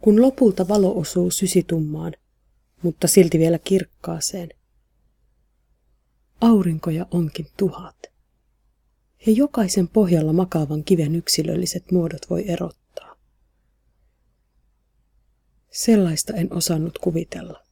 kun lopulta valo osuu sysitummaan, mutta silti vielä kirkkaaseen. Aurinkoja onkin 1000, ja jokaisen pohjalla makaavan kiven yksilölliset muodot voi erottaa. Sellaista en osannut kuvitella.